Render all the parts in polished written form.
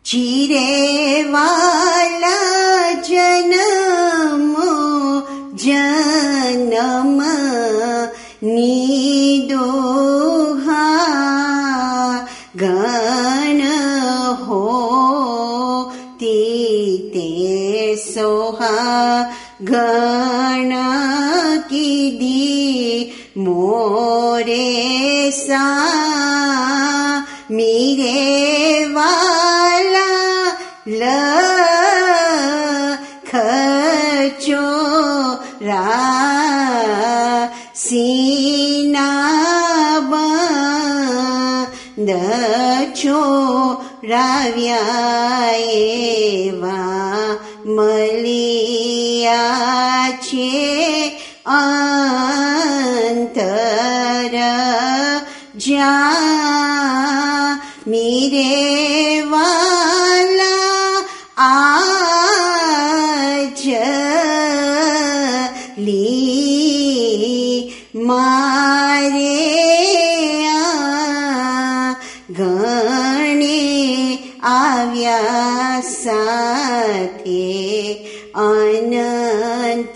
चीरे वाला जन्मो जन्म निदोहा गण हो ते सोहा गण की दी मोरे सा मेरे वाला खचोरा सीना बंद छोराव्या मलिया छे अंतर जा मेरे वाला आज ली मारे गणे आव्या साथे अनंत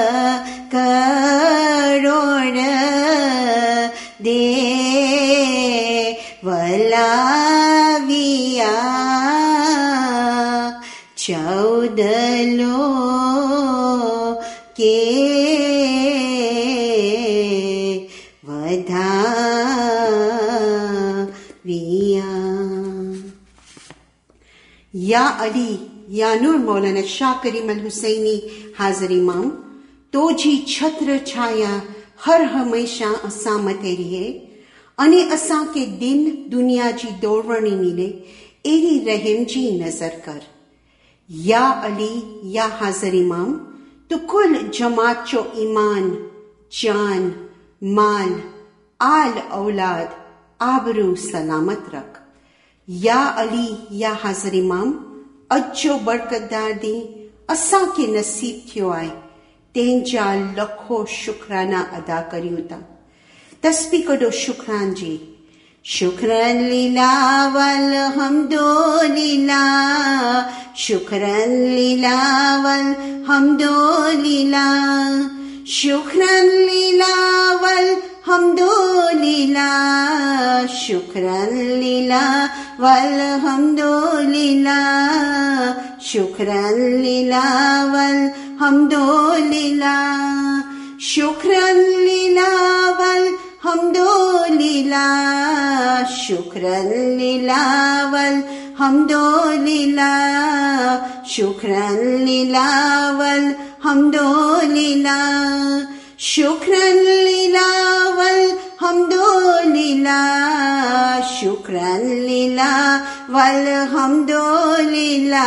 करोड़ दे वलाविया चौदलो के वधाविया। या अली या नूर मौलाना शाह करीम अल हुसैनी हाज़िर इमाम तो जी छत्र छाया हर हमेशा असां मथे रहे अने असां के दिन दुनिया जी दौड़वणी मिले एरी रहम जी नजर कर। या अली या हाज़िर इमाम तो कुल जमात चो ईमान जान माल आल औलाद आबरू सलामत रख। या अली या हाज़िर इमाम अजो बरकतदार दी असां के नसीब थियो आहे तेंजा लखो शुक्राना अदा करियूं था। तस्बीह कढो शुक्रान जी। शुक्रन लीला वल हमदो लीला शुक्रन लीला वल हमदो लीला शुक्रन लीला वल हमदो लीला शुक्रन लीला वल हमदो लीला शुक्रन लीला वल हमदो लीला शुक्रन लीला वल हमदो लीला शुक्रन लीला वल हमदो लीला शुक्रन लीला वल हमदो लीला शुक्रन लीला वल हमदो लीला शुक्रन लीला वल हमदो लीला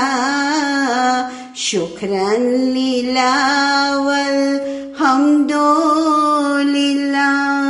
शुक्रन लीला वल हमदो लीला।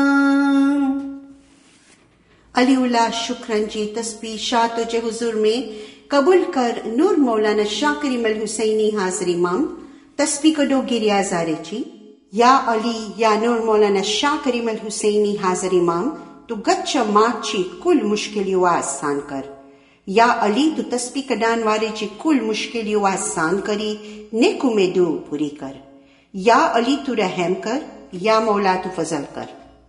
अलीउल्लाह शुक्रन जी तस्बीह शाह तुझे हुजूर में कबूल कर नूर मौलाना शाह करीम अल हुसैनी हाज़िर इमाम तस्बीह कढो गिरियाज़ारे जी। या अली या नूर मौलाना शाह करीम अल हुसैनी हाज़िर इमाम तू गच्छ माची कुल मुश्किलियों आसान कर। या अली तू तस्बीह कढान वारे जी कुल मुश्किलियों आसान करी नेक उम्मीदों पूरी कर। या अली तू रहम कर या मौला तू फजल कर।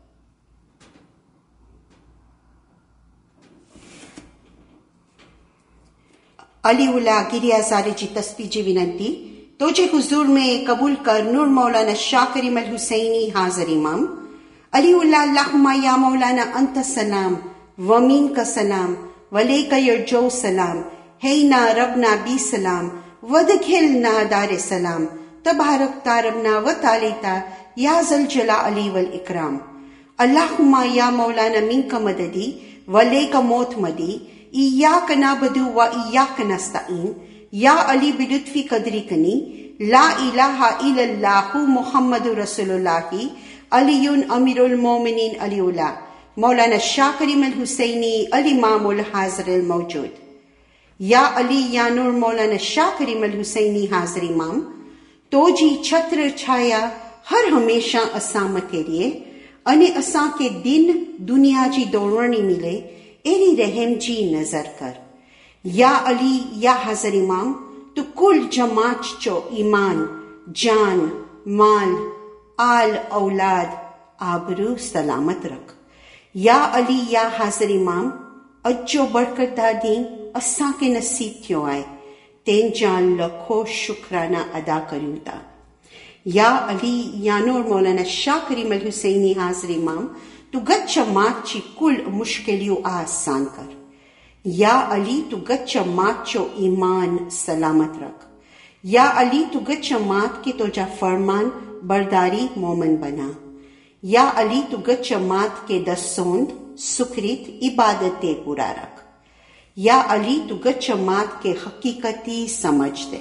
अलीउल्लाह गिरियाज़ारे जी तस्बीह जी विनंती तोजे हुजूर में कबूल कर नूर मौलाना शाह करीम अल हुसैनी हाज़िर इमाम। अलीउल्लाह अल्लाहुम्मा या मौलाना अंत सलाम वमीन का सलाम वलेका यरजो सलाम हैना रबना बी सलाम वदखिलना दारे सलाम तबारक तारबना व तालिता या जल जला अली वल इकराम। अल्लाहुम्मा या मौलाना मिनका मददी वलेका मौत मदी इय्याक नाबदु व इय्याक नस्तईन या अली बिलुत्फी कदरी कनी ला इलाहा इल्लल्लाहु मुहम्मदुर रसूलुल्लाही अलीयुन अमीरुल मोमिनीन अलीउल्लाह मौलाना शाह करीम अल हुसैनी अल इमामुल हाज़िर अल मौजूद। या अली या नूर मौलाना शाह करीम अल हुसैनी हाज़िर इमाम तो जी छत्र छाया हर हमेशा असां मथे रहे अने असां के दिन दुनिया जी दौड़वणी मिले एरी रहम जी नजर कर। या अली या हजर इमाम तू कुल जमात चो ईमान जान माल आल औलाद आबरू सलामत रख। या अली या हाज़िर इमाम अजो बढ़कर दादीन असां के नसीब थियो आहे तेन जा लखो शुक्राना अदा करियूं था। या अली या नूर मौलाना शाह करीम अल हुसैनी हाज़िर इमाम तू गच्छ मात ची कुल मुश्किलियों आसान कर। या अली तू गच्छ मात चो ईमान सलामत रख। या अली तू गच्छ मात के तोजा फरमान बरदारी मोमन बना। या अली तू गच्छ मात के दसोंद सुखरीत इबादते पूरा रख। या अली तू गच्छ मात के हकीकती समझ दे।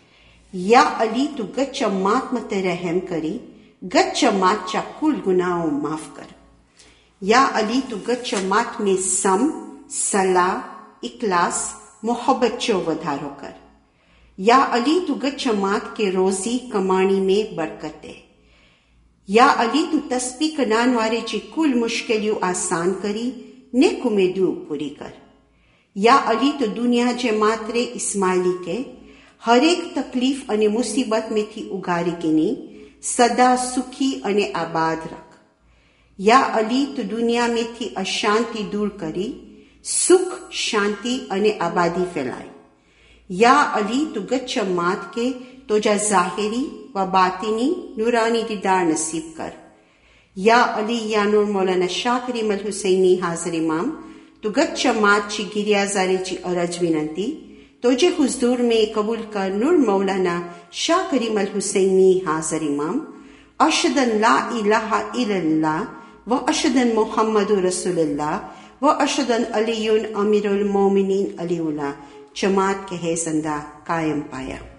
या अली तू गच्छ मात मते रहम करी गच्छ मात चा कुल गुनाहों माफ कर। या अली तू गच्छ मात में सम सलाह इखलास मोहब्बत चो वधारो कर। या अली तू गच्छ मात के रोजी कमाणी में बरकत दे। या अली तू तस्बीह कनान वारे जी कुल मुश्किलियों आसान करी नेक उम्मीदों पूरी कर। या अली तू दुनिया जे मात्रे इस्माइली के हर एक तकलीफ अने मुसीबत में थी उगारी किनी सदा सुखी अने आबाद रख। या अली तू दुनिया में थी अशांति दूर करी सुख शांति अने आबादी फैलाई। या अली तू गच्छ मात के तोजा जाहिरी व बातिनी नूरानी दीदार नसीब कर। या अली या नूर मौलाना शाह करीम अल हुसैनी हाज़िर इमाम तू गच्छ मात ची गिरियाजारी ची अरज विनंती तोजे हुजूर में कबूल कर नूर मौलाना शाह करीम अल हुसैनी हाज़िर इमाम अशदन ला इलाहा इल्लल्लाह व अशदन मुहम्मदुर रसूलुल्लाह व अशदन अलीयुन अमीरुल मोमिनीन अलीउल्लाह जमात के है जिंदा कायम पाया।